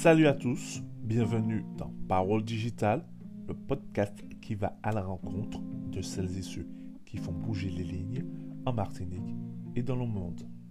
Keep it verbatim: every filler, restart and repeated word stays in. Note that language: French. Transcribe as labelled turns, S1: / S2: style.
S1: Salut à tous, bienvenue dans Parole Digitale, le podcast qui va à la rencontre de celles et ceux qui font bouger les lignes en Martinique et dans le monde.